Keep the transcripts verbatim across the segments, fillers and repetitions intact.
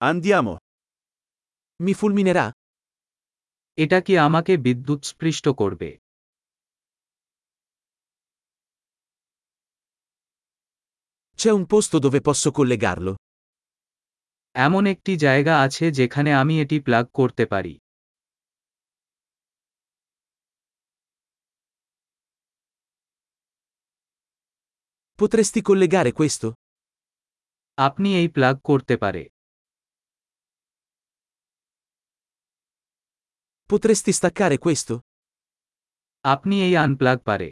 Andiamo. Mi fulminerà? এটা কি আমাকে বিদ্যুৎস্পৃষ্ট করবে? C'è un posto dove posso collegarlo? এমন একটি জায়গা আছে যেখানে আমি এটি প্লাগ করতে পারি। Potresti collegare questo? আপনি এই প্লাগ করতে পারে। Potresti staccare questo? আপনি এই আনপ্লাগ পারে।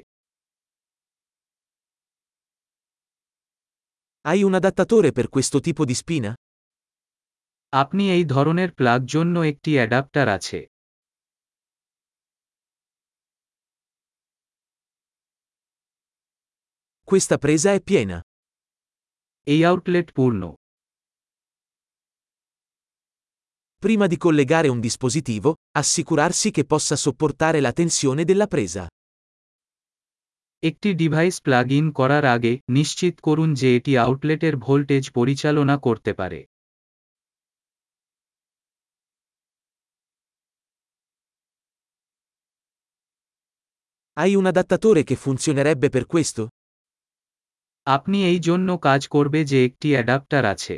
Hai un adattatore per questo tipo di spina? আপনি এই ধরনের প্লাগ জন্য একটি অ্যাডাপ্টার আছে। Questa presa è piena. এই আউটলেট পূর্ণ। Prima di collegare un dispositivo, assicurarsi che possa sopportare la tensione della presa. একটি ডিভাইস প্লাগ ইন করার আগে নিশ্চিত করুন যে এটি আউটলেটের ভোল্টেজ পরিচালনা করতে পারে। Hai un adattatore che funzionerebbe per questo? আপনি এই জন্য কাজ করবে যে একটি অ্যাডাপ্টার আছে।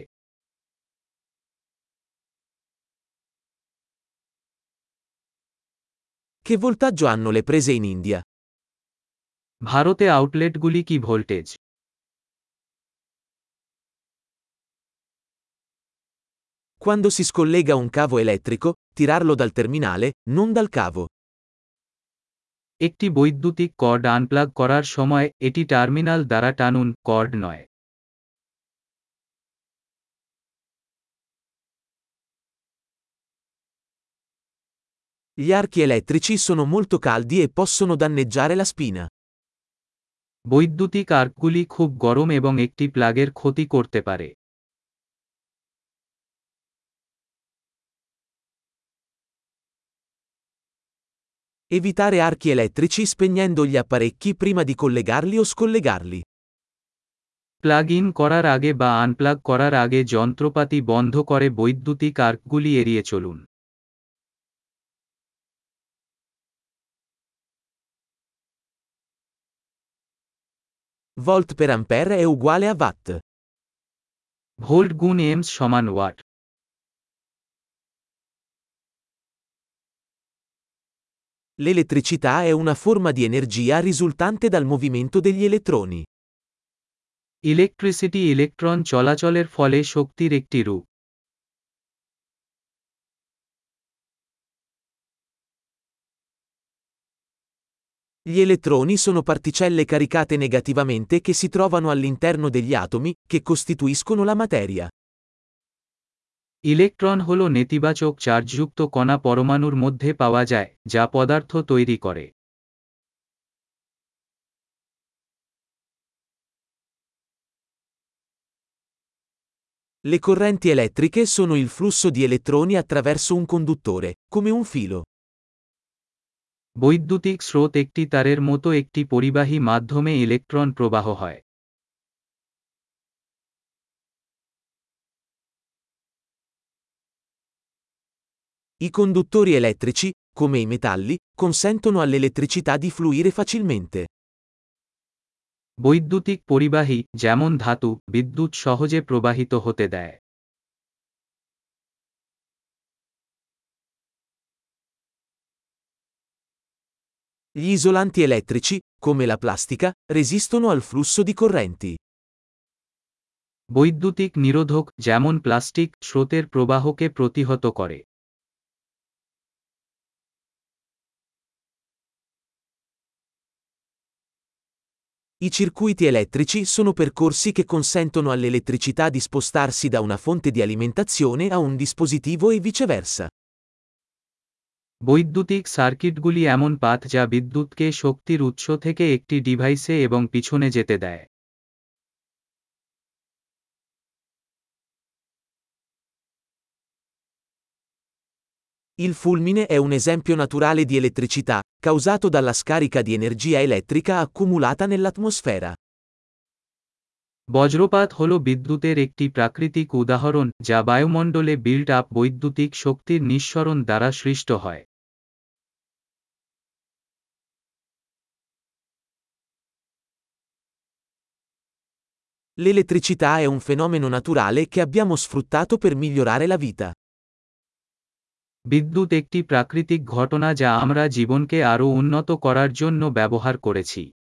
Che voltaggio hanno le prese in India? ভারতে আউটলেটগুলি কি voltage? Quando si scollega un cavo elettrico, tirarlo dal terminale, non dal cavo. একটি বৈদ্যুতিক কর্ড আনপ্লাগ করার সময় এটি টার্মিনাল দ্বারা টানুন, কর্ড নয়। Gli archi elettrici sono molto caldi e possono danneggiare la spina. বৈদ্যুতিক আর্কগুলি খুব গরম এবং একটি প্লাগের ক্ষতি করতে পারে। Evitare archi elettrici spegnendo gli apparecchi prima di collegarli o scollegarli. Plug in করার আগে বা আনপ্লাগ করার আগে যন্ত্রপাতি বন্ধ করে বৈদ্যুতিক আর্কগুলি এড়িয়ে চলুন। Volt per ampere è uguale a watt. Volt গুণ এমস সমান watt. L'elettricità è una forma di energia risultante dal movimento degli elettroni. Electricity electron চলাচলের ফলে শক্তির একটি রূপ। Gli elettroni sono particelle caricate negativamente che si trovano all'interno degli atomi, che costituiscono la materia. Electron হল নেতিবাচক চার্জযুক্ত কণা পরমাণুর মধ্যে পাওয়া যায়, যা পদার্থ তৈরি করে। Le correnti elettriche sono il flusso di elettroni attraverso un conduttore, come un filo. বৈদ্যুতিক স্রোত একটি তারের মতো একটি পরিবাহী মাধ্যমে ইলেকট্রন প্রবাহ হয়। I conduttori elettrici, come i metalli, consentono all'elettricità di fluire facilmente. বৈদ্যুতিক পরিবাহী, যেমন ধাতু, বিদ্যুৎ সহজে প্রবাহিত হতে দেয়। Gli isolanti elettrici, come la plastica, resistono al flusso di correnti. বৈদ্যুতিক নিরোধক, যেমন প্লাস্টিক, স্রোতের প্রবাহকে প্রতিহত করে। I circuiti elettrici sono percorsi che consentono all'elettricità di spostarsi da una fonte di alimentazione a un dispositivo e viceversa. বৈদ্যুতিক সার্কিটগুলি এমন পাথ যা বিদ্যুৎকে শক্তির উৎস থেকে একটি ডিভাইসে এবং পিছনে যেতে দেয়। Il fulmine è un esempio naturale di elettricità, causato dalla scarica di energia elettrica accumulata nell'atmosfera. বজ্রপাত হল বিদ্যুতের একটি প্রাকৃতিক উদাহরণ যা বায়ুমণ্ডলে বিল্ড আপ বৈদ্যুতিক শক্তির নিঃসরণ দ্বারা সৃষ্ট হয়। L'elettricità è un fenomeno naturale che abbiamo sfruttato per migliorare la vita. বিদ্যুৎ একটি প্রাকৃতিক ঘটনা যা আমরা জীবনকে আরও উন্নত করার জন্য ব্যবহার করেছি।